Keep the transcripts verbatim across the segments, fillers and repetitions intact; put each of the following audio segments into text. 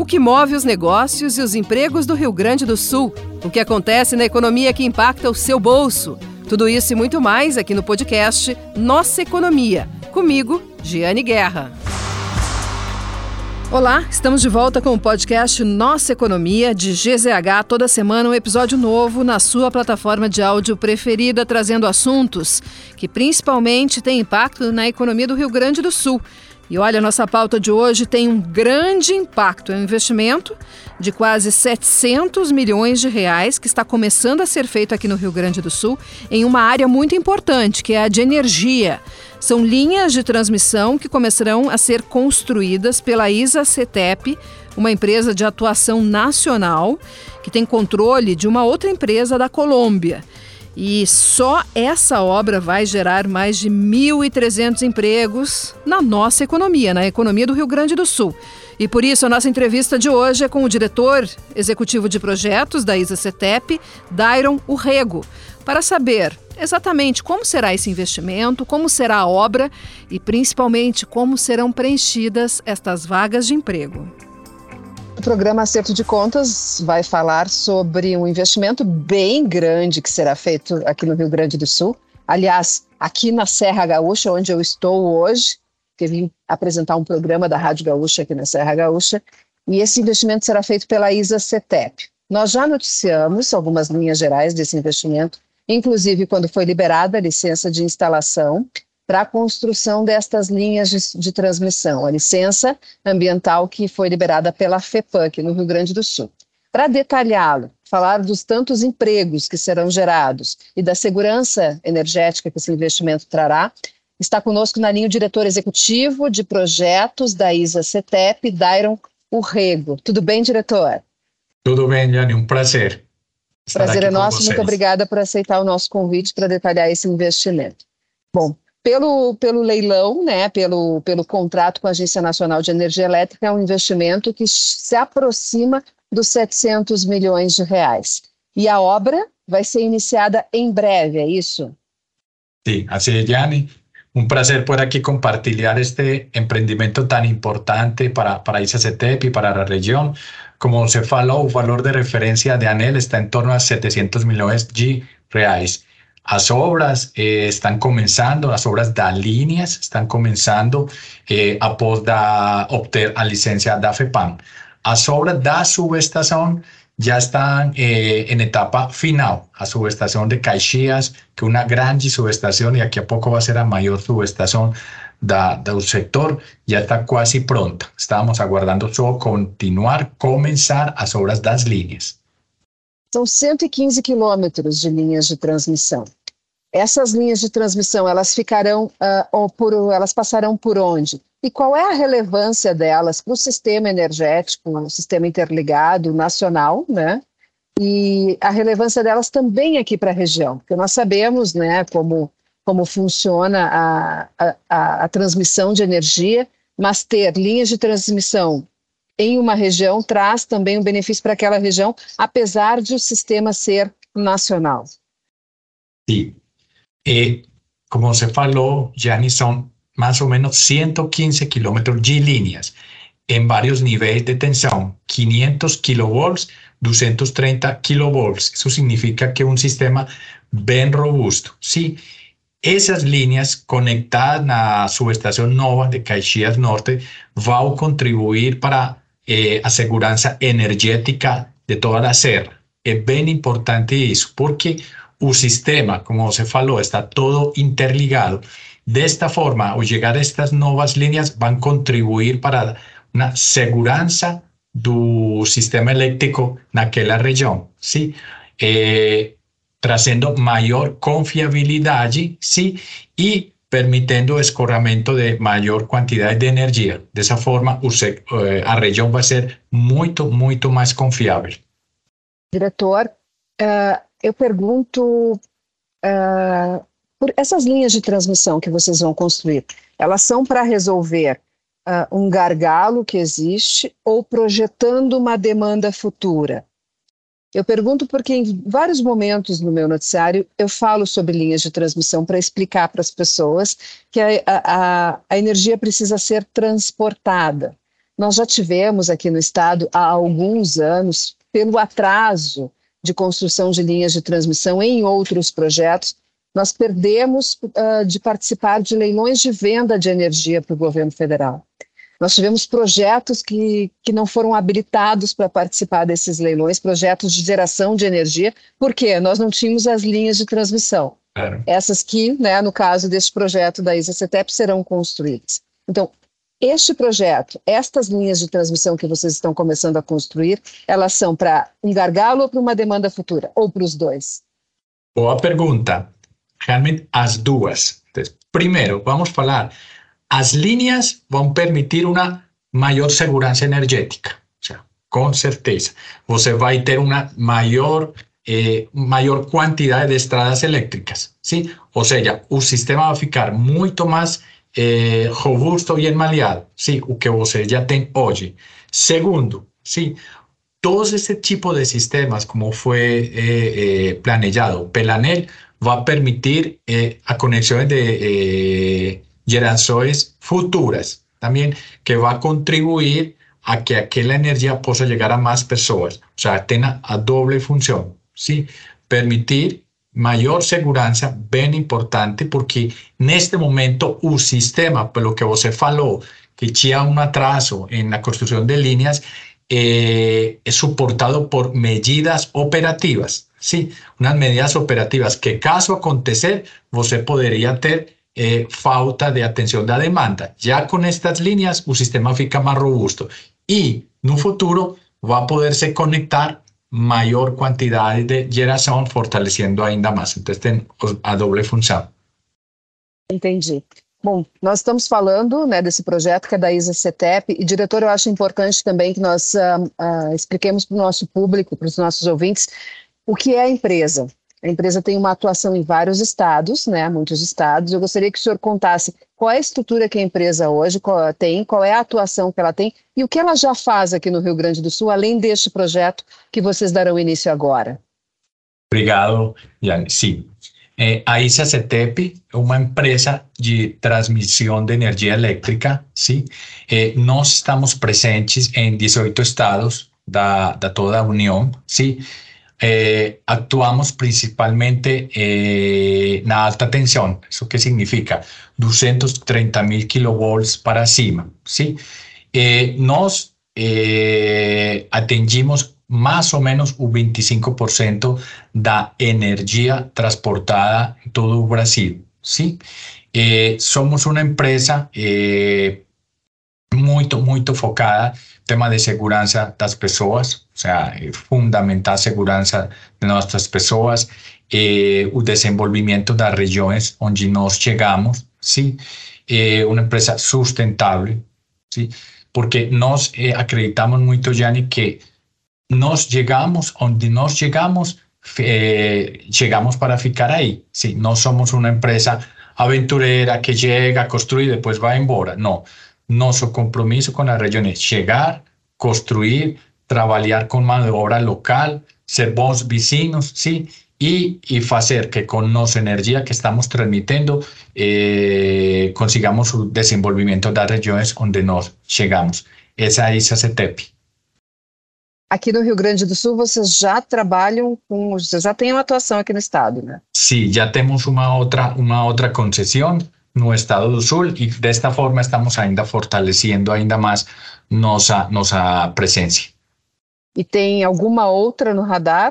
que move os negócios e os empregos do Rio Grande do Sul, o que acontece na economia que impacta o seu bolso. Tudo isso e muito mais aqui no podcast Nossa Economia. Comigo, Giane Guerra. Olá, estamos de volta com o podcast Nossa Economia, de G Z H, toda semana um episódio novo na sua plataforma de áudio preferida, trazendo assuntos que principalmente têm impacto na economia do Rio Grande do Sul. E olha, a nossa pauta de hoje tem um grande impacto, é um investimento de quase setecentos milhões de reais que está começando a ser feito aqui no Rio Grande do Sul em uma área muito importante, que é a de energia. São linhas de transmissão que começarão a ser construídas pela ISA-CETEP, uma empresa de atuação nacional que tem controle de uma outra empresa da Colômbia. E só essa obra vai gerar mais de mil e trezentos empregos na nossa economia, na economia do Rio Grande do Sul. E por isso a nossa entrevista de hoje é com o diretor executivo de projetos da ISA-CETEP, Dairon Urrego, para saber exatamente como será esse investimento, como será a obra e principalmente como serão preenchidas estas vagas de emprego. O programa Acerto de Contas vai falar sobre um investimento bem grande que será feito aqui no Rio Grande do Sul. Aliás, aqui na Serra Gaúcha, onde eu estou hoje, que vim apresentar um programa da Rádio Gaúcha aqui na Serra Gaúcha, e esse investimento será feito pela ISA-CETEP. Nós já noticiamos algumas linhas gerais desse investimento, inclusive quando foi liberada a licença de instalação para a construção destas linhas de, de transmissão, a licença ambiental que foi liberada pela FEPAM, aqui no Rio Grande do Sul. Para detalhá-lo, falar dos tantos empregos que serão gerados e da segurança energética que esse investimento trará, está conosco na linha o diretor executivo de projetos da ISA-CETEP, Dairon Urrego. Tudo bem, diretor? Tudo bem, Giane, um prazer. Prazer é nosso, muito obrigada por aceitar o nosso convite para detalhar esse investimento. Bom, pelo, pelo leilão, né, pelo, pelo contrato com a Agência Nacional de Energia Elétrica, é um investimento que se aproxima dos setecentos milhões de reais. E a obra vai ser iniciada em breve, é isso? Sim, assim é, Giane. Um prazer por aqui compartilhar este empreendimento tão importante para, para a ISA-CETEP e para a região. Como se falou, o valor de referência de ANEEL está em torno a setecentos milhões de reais. As obras eh, estão começando, as obras das linhas estão começando eh, após da, obter a licença da FEPAM. As obras da subestação já estão eh, em etapa final. A subestação de Caxias, que é uma grande subestação, e daqui a pouco vai ser a maior subestação da, do setor, já está quase pronta. Estamos aguardando só continuar, começar as obras das linhas. São cento e quinze quilômetros de linhas de transmissão. Essas linhas de transmissão, elas ficarão, uh, ou por, elas passarão por onde? E qual é a relevância delas para o sistema energético, o sistema interligado nacional, né? E a relevância delas também aqui para a região, porque nós sabemos, né, como, como funciona a, a, a, a transmissão de energia, mas ter linhas de transmissão em uma região traz também um benefício para aquela região, apesar de o sistema ser nacional. Sim. E, como você falou, Giane, são mais ou menos cento e quinze quilômetros de linhas em vários níveis de tensão, quinhentos quilovolts, duzentos e trinta quilovolts. Isso significa que é um sistema bem robusto. Sim, essas linhas conectadas na subestação nova de Caxias Norte vão contribuir para eh, a segurança energética de toda a serra. É bem importante isso, porque o sistema, como você falou, está todo interligado. Desta forma, ao chegar a estas novas linhas, vão contribuir para uma segurança do sistema elétrico naquela região, sim? Eh, trazendo maior confiabilidade, sim? E permitindo o escoramento de maior quantidade de energia. Dessa forma, o, eh, a região vai ser muito, muito mais confiável. Diretor, uh, eu pergunto, uh, por essas linhas de transmissão que vocês vão construir, elas são para resolver uh, um gargalo que existe ou projetando uma demanda futura? Eu pergunto porque em vários momentos no meu noticiário eu falo sobre linhas de transmissão para explicar para as pessoas que a, a, a energia precisa ser transportada. nós já tivemos aqui no estado há alguns anos, pelo atraso de construção de linhas de transmissão em outros projetos, nós perdemos uh, de participar de leilões de venda de energia para o governo federal. Nós tivemos projetos que, que não foram habilitados para participar desses leilões, projetos de geração de energia, porque nós não tínhamos as linhas de transmissão. Claro. Essas que, né, no caso deste projeto da ISA-CETEP, serão construídas. Então, este projeto, estas linhas de transmissão que vocês estão começando a construir, elas são para um gargalo ou para uma demanda futura? Ou para os dois? Boa pergunta. Realmente, as duas. Então, primeiro, vamos falar, as linhas vão permitir uma maior segurança energética. O sea, com certeza. Você vai ter uma maior, eh, maior quantidade de estradas elétricas. ¿Sí? Ou seja, o sistema vai ficar muito mais eh, robusto e enmalhado. ¿Sí? O que você já tem hoje. Segundo, ¿sí? Todo esse tipo de sistemas, como foi eh, eh, planejado pela ANEEL, vai permitir eh, a conexão de eh, gerações futuras, também, que vai contribuir a que aquela energia possa chegar a mais pessoas. Ou seja, tem a doble função, ¿sí? Permitir maior segurança, bem importante, porque neste momento o sistema, pelo que você falou, que tinha um atraso na construção de linhas, eh, é suportado por medidas operativas. Sí, unas medidas operativas que, caso acontecer, você poderia ter eh, falta de atenção da demanda. Já com estas linhas, o sistema fica mais robusto e, no futuro, vai poder se conectar maior quantidade de geração, fortalecendo ainda mais. Então, tem a doble função. Entendi. Bom, nós estamos falando, né, desse projeto que é da ISA-CETEP, e, diretor, eu acho importante também que nós uh, uh, expliquemos para o nosso público, para os nossos ouvintes, o que é a empresa. A empresa tem uma atuação em vários estados, né, muitos estados. Eu gostaria que o senhor contasse qual é a estrutura que a empresa hoje qual tem, qual é a atuação que ela tem e o que ela já faz aqui no Rio Grande do Sul, além deste projeto que vocês darão início agora. Obrigado, Jane. Sim. Eh, a ISA-CETEP é uma empresa de transmissão de energia elétrica. Sim? Eh, nós estamos presentes em dezoito estados da, da toda a União. Sim? Eh, actuamos principalmente eh, na alta tensão. Isso que significa duzentos e trinta mil kilovolts para cima. ¿Sí? Eh, nós eh, atingimos mais ou menos o vinte e cinco por cento da energia transportada em todo o Brasil. ¿Sí? Eh, somos uma empresa eh, muito, muito focada no tema de segurança das pessoas, ou seja, é fundamental a segurança de nossas pessoas, eh, o desenvolvimento das regiões onde nós chegamos, sim, é uma empresa sustentável, sim, porque nós eh, acreditamos muito, Jane, que nós chegamos onde nós chegamos, eh, chegamos para ficar aí, sim, não somos uma empresa aventureira que chega, construi e depois vai embora, não. Nosso compromisso com a região é chegar, construir, trabalhar com mão de obra local, ser bons vizinhos, sim, e, e fazer que com nossa energia que estamos transmitindo eh, consigamos o desenvolvimento das regiões onde nós chegamos. Essa é a ISA-CETEP. Aqui no Rio Grande do Sul, vocês já trabalham com... Vocês já têm uma atuação aqui no estado, né? Sim, já temos uma outra, uma outra concessão no estado do Sul e desta forma estamos ainda fortalecendo ainda mais nossa, nossa presença. E tem alguma outra no radar?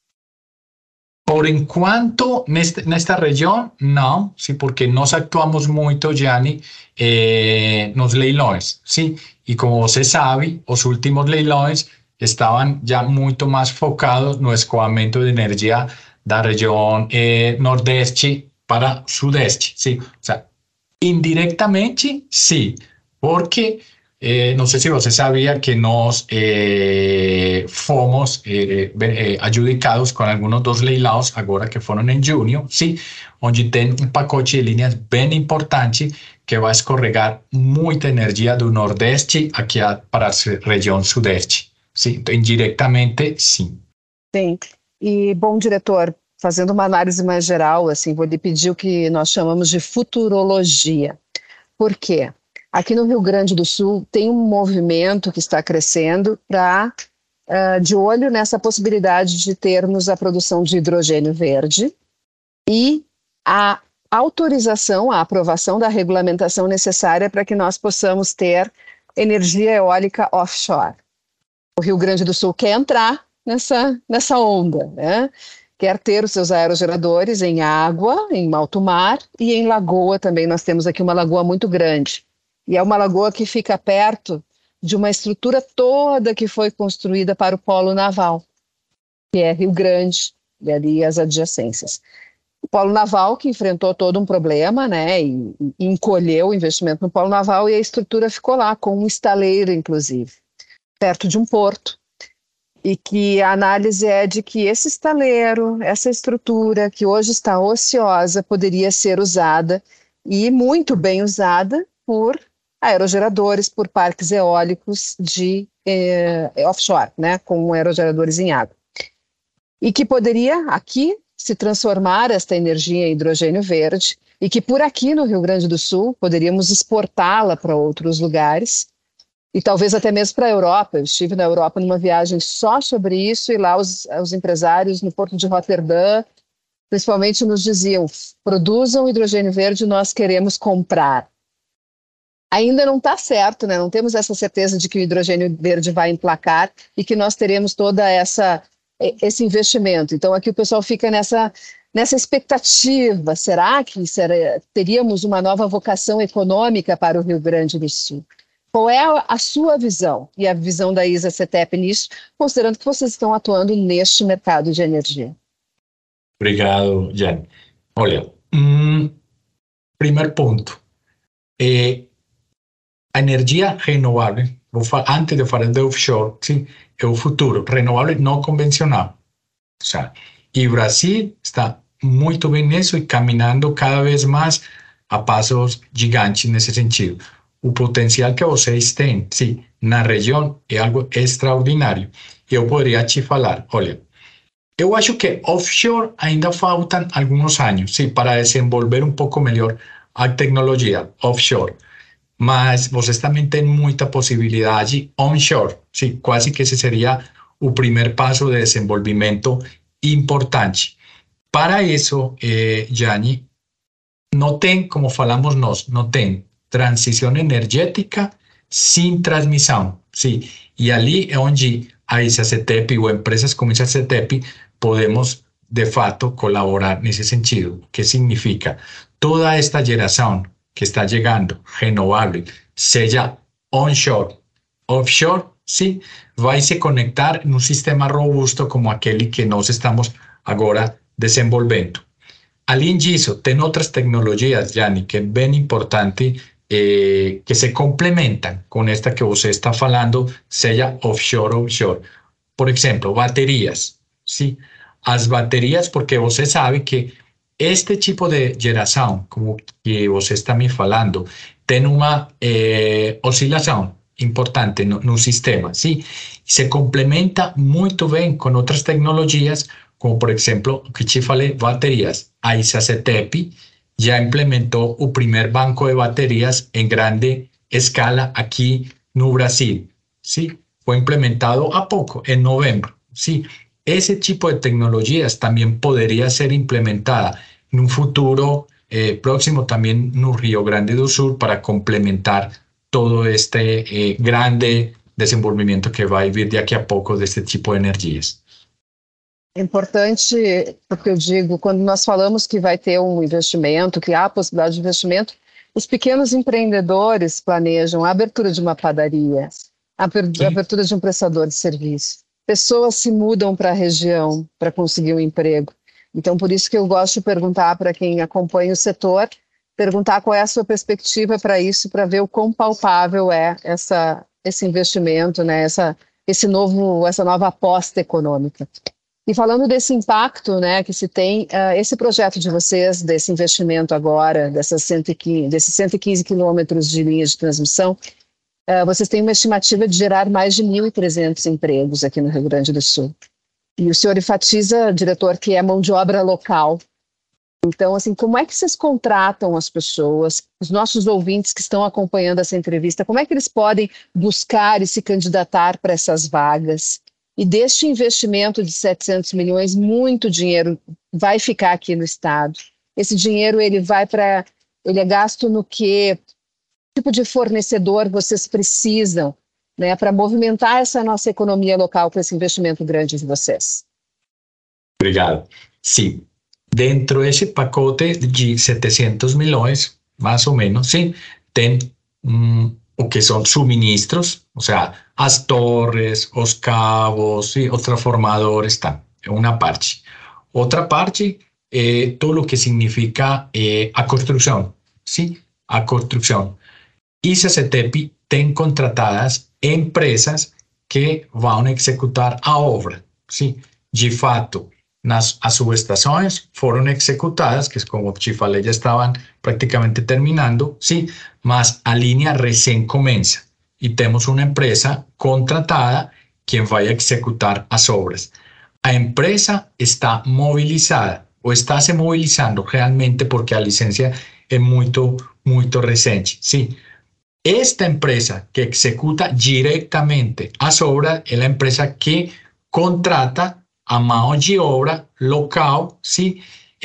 Por enquanto, nesta, nesta região, não, sim, porque nós actuamos muito, Jane, eh, nos leilões, sim, e como você sabe, os últimos leilões estavam já muito mais focados no escoamento de energia da região eh, nordeste para sudeste, sim, o sea, indiretamente, sim, porque eh, não sei se você sabia que nós eh, fomos eh, eh, adjudicados com alguns dos leilões agora que foram em junho, sim, onde tem um pacote de linhas bem importante que vai escorregar muita energia do nordeste aqui para a região sudeste, sim, então indiretamente, sim. Sim, e bom, diretor, fazendo uma análise mais geral, assim, vou lhe pedir o que nós chamamos de futurologia. Por quê? Aqui no Rio Grande do Sul tem um movimento que está crescendo para uh, de olho nessa possibilidade de termos a produção de hidrogênio verde e a autorização, a aprovação da regulamentação necessária para que nós possamos ter energia eólica offshore. O Rio Grande do Sul quer entrar nessa, nessa onda, né? Quer ter os seus aerogeradores em água, em alto mar e em lagoa também. Nós temos aqui uma lagoa muito grande. E é uma lagoa que fica perto de uma estrutura toda que foi construída para o polo naval, que é Rio Grande e ali as adjacências. O polo naval que enfrentou todo um problema, né, e, e encolheu o investimento no polo naval e a estrutura ficou lá, com um estaleiro, inclusive, perto de um porto. E que a análise é de que esse estaleiro, essa estrutura que hoje está ociosa, poderia ser usada e muito bem usada por aerogeradores, por parques eólicos de eh, offshore, né, com aerogeradores em água. E que poderia aqui se transformar esta energia em hidrogênio verde e que por aqui no Rio Grande do Sul poderíamos exportá-la para outros lugares e talvez até mesmo para a Europa. Eu estive na Europa numa viagem só sobre isso e lá os, os empresários no porto de Roterdã, principalmente, nos diziam: produzam hidrogênio verde, nós queremos comprar. Ainda não está certo, né? Não temos essa certeza de que o hidrogênio verde vai emplacar e que nós teremos toda essa esse investimento. Então aqui o pessoal fica nessa nessa expectativa. Será que será, teríamos uma nova vocação econômica para o Rio Grande do Sul? Qual é a, a sua visão e a visão da ISA-CETEP nisso, considerando que vocês estão atuando neste mercado de energia? Obrigado, Jan. Olha, um, primeiro ponto. É, a energia renovável, vou falar, antes de falar de offshore, sim, é o futuro, renovável não convencional. O sea, e o Brasil está muito bem nisso e caminhando cada vez mais a passos gigantes nesse sentido. O potencial que vocês têm, sim, na região é algo extraordinário. Eu poderia te falar, olha, eu acho que offshore ainda faltam alguns anos, sim, para desenvolver um pouco melhor a tecnologia offshore. Mas vocês também têm muita possibilidade onshore, sim, quase que esse seria o primeiro passo de desenvolvimento importante. Para isso, eh, Jani, não tem, como falamos nós, não tem transição energética sem transmissão, sim. E ali é onde a ISA-CETEP ou empresas como a ISA-CETEP podemos, de fato, colaborar nesse sentido. O que significa? Toda esta geração que está chegando, renovável, seja onshore, offshore, sim, vai se conectar num sistema robusto como aquele que nós estamos agora desenvolvendo. Além disso, tem outras tecnologias, Jani, que é bem importante, eh, que se complementam com esta que você está falando, seja offshore ou onshore. Por exemplo, baterias, sim. As baterias, porque você sabe que este tipo de geração, como que você está me falando, tem uma eh, oscilação importante no, no sistema, sim? Se complementa muito bem com outras tecnologias, como por exemplo, o que te falei, baterias. A ISA-CETEP já implementou o primeiro banco de baterias em grande escala aqui no Brasil, sim? Foi implementado há pouco, em novembro, sim? Esse tipo de tecnologias também poderia ser implementada em um futuro eh, próximo também no Rio Grande do Sul para complementar todo este eh, grande desenvolvimento que vai vir daqui a pouco deste tipo de energias. É importante, porque eu digo, quando nós falamos que vai ter um investimento, que há a possibilidade de investimento, os pequenos empreendedores planejam a abertura de uma padaria, a abertura de um prestador de serviço. Pessoas se mudam para a região para conseguir um emprego. Então, por isso que eu gosto de perguntar para quem acompanha o setor, perguntar qual é a sua perspectiva para isso, para ver o quão palpável é essa, esse investimento, né, essa, esse novo, essa nova aposta econômica. E falando desse impacto, né, que se tem, uh, esse projeto de vocês, desse investimento agora, dessas cento e quinze, desses cento e quinze quilômetros de linhas de transmissão, uh, vocês têm uma estimativa de gerar mais de mil e trezentos empregos aqui no Rio Grande do Sul. E o senhor enfatiza, diretor, que é mão de obra local. Então, assim, como é que vocês contratam as pessoas, os nossos ouvintes que estão acompanhando essa entrevista, como é que eles podem buscar e se candidatar para essas vagas? E deste investimento de setecentos milhões, muito dinheiro vai ficar aqui no Estado. Esse dinheiro, ele vai para, ele é gasto no quê? Que tipo de fornecedor vocês precisam, né, para movimentar essa nossa economia local com esse investimento grande de vocês? Obrigado. Sim. Dentro desse pacote de setecentos milhões, mais ou menos, sim, tem um, o que são suministros, ou seja, as torres, os cabos, sim, os transformadores, tá, é uma parte. Outra parte é todo o que significa é, a construção, sim, a construção. E a CETEPI tem contratadas empresas que vão executar a obra, sim, de fato. Nas, as subestações foram executadas, que como te falei, já estavam praticamente terminando, sim, mas a linha recém começa e temos uma empresa contratada que vai executar as obras. A empresa está mobilizada ou está se mobilizando realmente porque a licença é muito, muito recente, sim. Esta empresa que executa diretamente as obras é a empresa que contrata a mão de obra local, sim,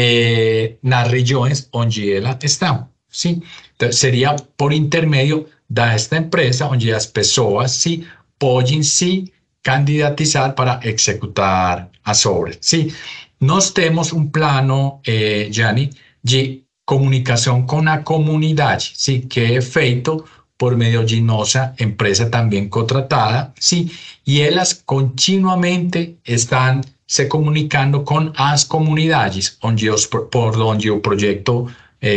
eh, nas regiões onde ela está, sim. Então, seria por intermédio desta empresa onde as pessoas, sim, podem se candidatizar para executar as obras, sim. Nós temos um plano, eh, Jani, de comunicação com a comunidade, sim, que é feito por meio de nossa empresa também contratada, sim, e elas continuamente estão se comunicando com as comunidades onde os, por onde o projeto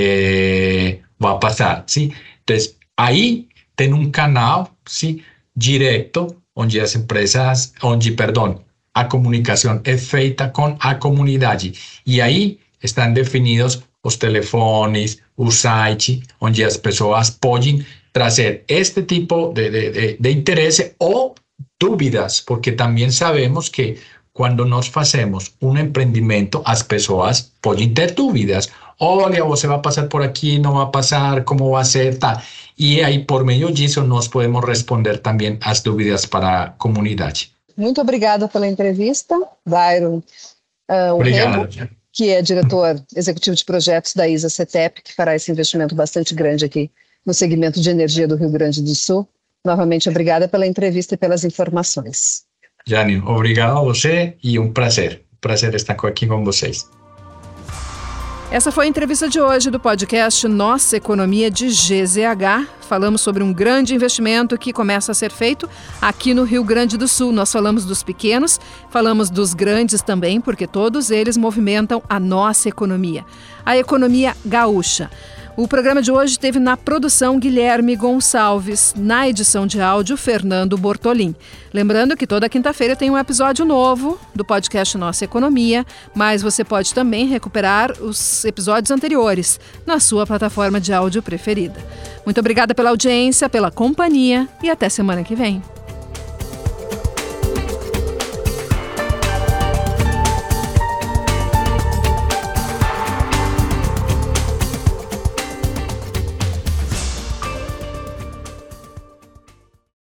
eh, vai passar, sim. Então, aí tem um canal, sim, direto, onde as empresas, onde, perdão, a comunicação é feita com a comunidade, e aí estão definidos os telefones, o site, onde as pessoas podem trazer este tipo de, de, de, de interesse ou dúvidas, porque também sabemos que quando nós fazemos um empreendimento, as pessoas podem ter dúvidas. Olha, você vai passar por aqui, não vai passar, como vai ser, tá? E aí, por meio disso, nós podemos responder também as dúvidas para a comunidade. Muito obrigada pela entrevista, Byron. Uh, Obrigado. Rego, que é diretor executivo de projetos da ISA-CETEP, que fará esse investimento bastante grande aqui no segmento de energia do Rio Grande do Sul. Novamente, obrigada pela entrevista e pelas informações. Jane, obrigado a você e um prazer. Prazer estar aqui com vocês. Essa foi a entrevista de hoje do podcast Nossa Economia de G Z H. Falamos sobre um grande investimento que começa a ser feito aqui no Rio Grande do Sul. Nós falamos dos pequenos, falamos dos grandes também, porque todos eles movimentam a nossa economia, a economia gaúcha. O programa de hoje teve na produção Guilherme Gonçalves, na edição de áudio Fernando Bortolim. Lembrando que toda quinta-feira tem um episódio novo do podcast Nossa Economia, mas você pode também recuperar os episódios anteriores na sua plataforma de áudio preferida. Muito obrigada pela audiência, pela companhia e até semana que vem.